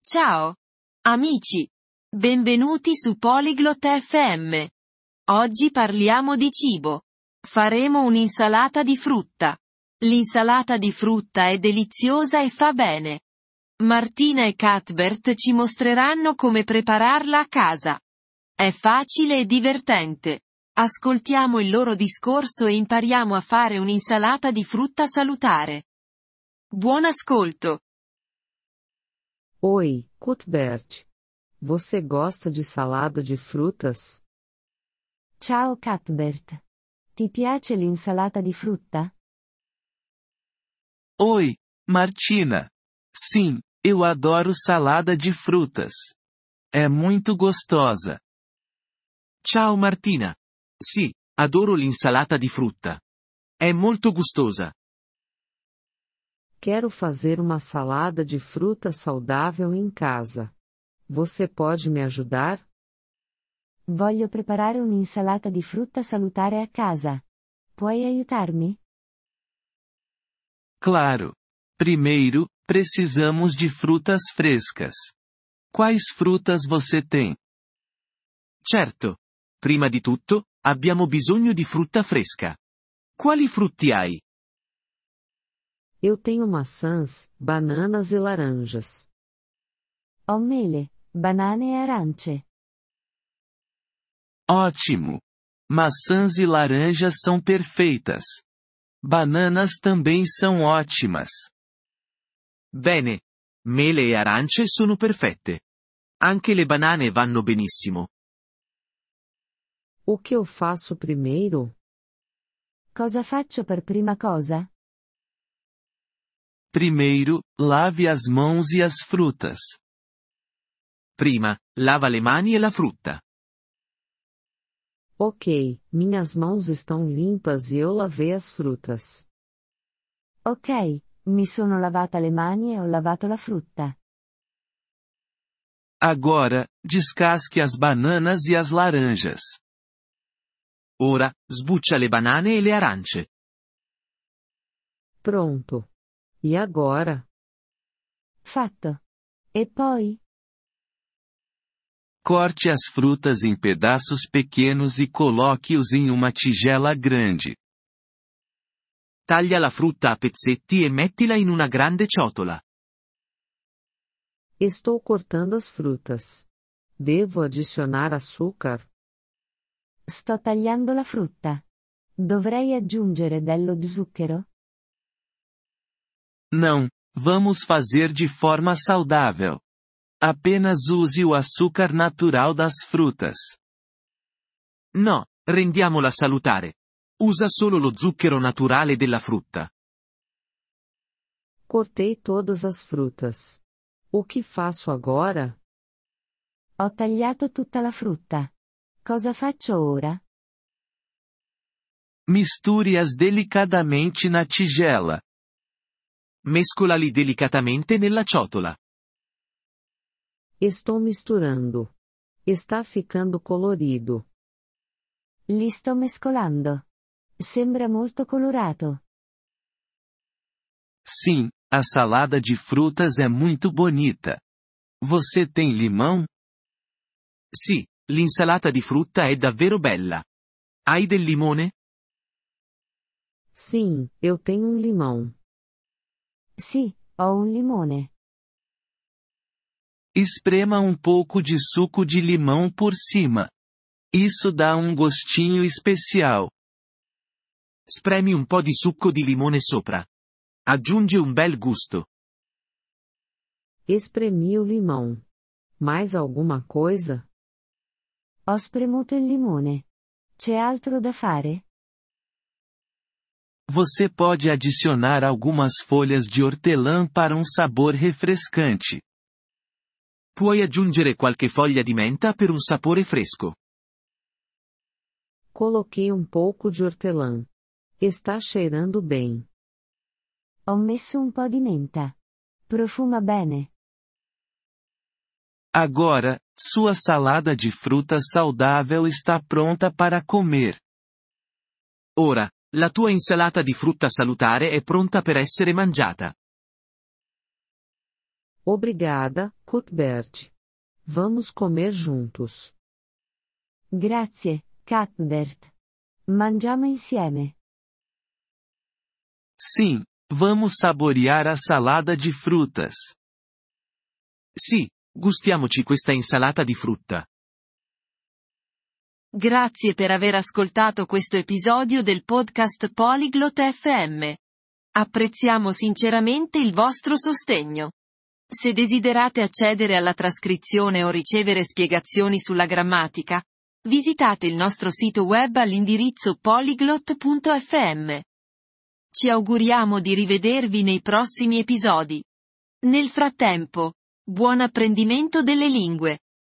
Ciao, amici. Benvenuti su Polyglot FM. Oggi parliamo di cibo. Faremo un'insalata di frutta. L'insalata di frutta è deliziosa e fa bene. Martina e Cuthbert ci mostreranno come prepararla a casa. È facile e divertente. Ascoltiamo il loro discorso e impariamo a fare un'insalata di frutta salutare. Buon ascolto! Oi, Cuthbert. Você gosta de salada de frutas? Ciao Cuthbert. Ti piace l'insalata di frutta? Oi, Martina. Sim, eu adoro salada de frutas. É muito gostosa. Ciao Martina. Sì, adoro l'insalata di frutta. È molto gustosa. Quero fazer uma salada de fruta saudável em casa. Você pode me ajudar? Voglio preparare un'insalata di frutta salutare a casa. Puoi aiutarmi? Claro. Primeiro, precisamos de frutas frescas. Quais frutas você tem? Certo. Prima di tutto, abbiamo bisogno di frutta fresca. Quali frutti hai? Eu tenho maçãs, bananas e laranjas. Ho mele, banane e arance. Ótimo! Maçãs e laranjas são perfeitas. Bananas também são ótimas. Bene. Mele e arance sono perfette. Anche le banane vanno benissimo. O que eu faço primeiro? Cosa faccio per prima cosa? Primeiro, lave as mãos e as frutas. Prima, lava le mani e la frutta. Ok, minhas mãos estão limpas e eu lavei as frutas. Ok, mi sono lavata le mani e ho lavato la frutta. Agora, descasque as bananas e as laranjas. Ora, sbuccia le banane e le arance. Pronto. E agora? Fatto. E poi? Corte as frutas em pedaços pequenos e coloque-os em uma tigela grande. Taglia la frutta a pezzetti e mettila in una grande ciotola. Estou cortando as frutas. Devo adicionar açúcar? Sto tagliando la frutta. Dovrei aggiungere dello zucchero? Não, vamos fazer de forma saudável. Apenas use o açúcar natural das frutas. No, rendiamola salutare. Usa solo lo zucchero naturale della frutta. Cortei todas as frutas. O que faço agora? Ho tagliato tutta la frutta. Cosa faccio ora? Misture-as delicadamente na tigela. Mescolali delicatamente nella ciotola. Estou misturando. Está ficando colorido. Li sto mescolando. Sembra molto colorato. Sim, a salada de frutas é muito bonita. Você tem limão? Sì, l'insalata di frutta è davvero bella. Hai del limone? Sim, eu tenho um limão. Sì, ho un limone. Esprema um pouco de suco de limão por cima. Isso dá um gostinho especial. Spremi un po' di succo di limone sopra. Aggiunge un bel gusto. Espremi o limão. Mais alguma coisa? Ho spremuto il limone. C'è altro da fare? Você pode adicionar algumas folhas de hortelã para um sabor refrescante. Puoi aggiungere qualche foglia di menta per un sapore fresco. Coloquei um pouco de hortelã. Está cheirando bem. Ho messo un po' di menta. Profuma bene. Agora, sua salada de frutas saudável está pronta para comer. Ora, la tua insalata di frutta salutare è pronta per essere mangiata. Obrigada, Cuthbert. Vamos comer juntos. Grazie, Cuthbert. Mangiamo insieme. Sim, vamos saborear a salada de frutas. Sì, gustiamoci questa insalata di frutta. Grazie per aver ascoltato questo episodio del podcast Polyglot FM. Apprezziamo sinceramente il vostro sostegno. Se desiderate accedere alla trascrizione o ricevere spiegazioni sulla grammatica, visitate il nostro sito web all'indirizzo polyglot.fm. Ci auguriamo di rivedervi nei prossimi episodi. Nel frattempo, buon apprendimento delle lingue.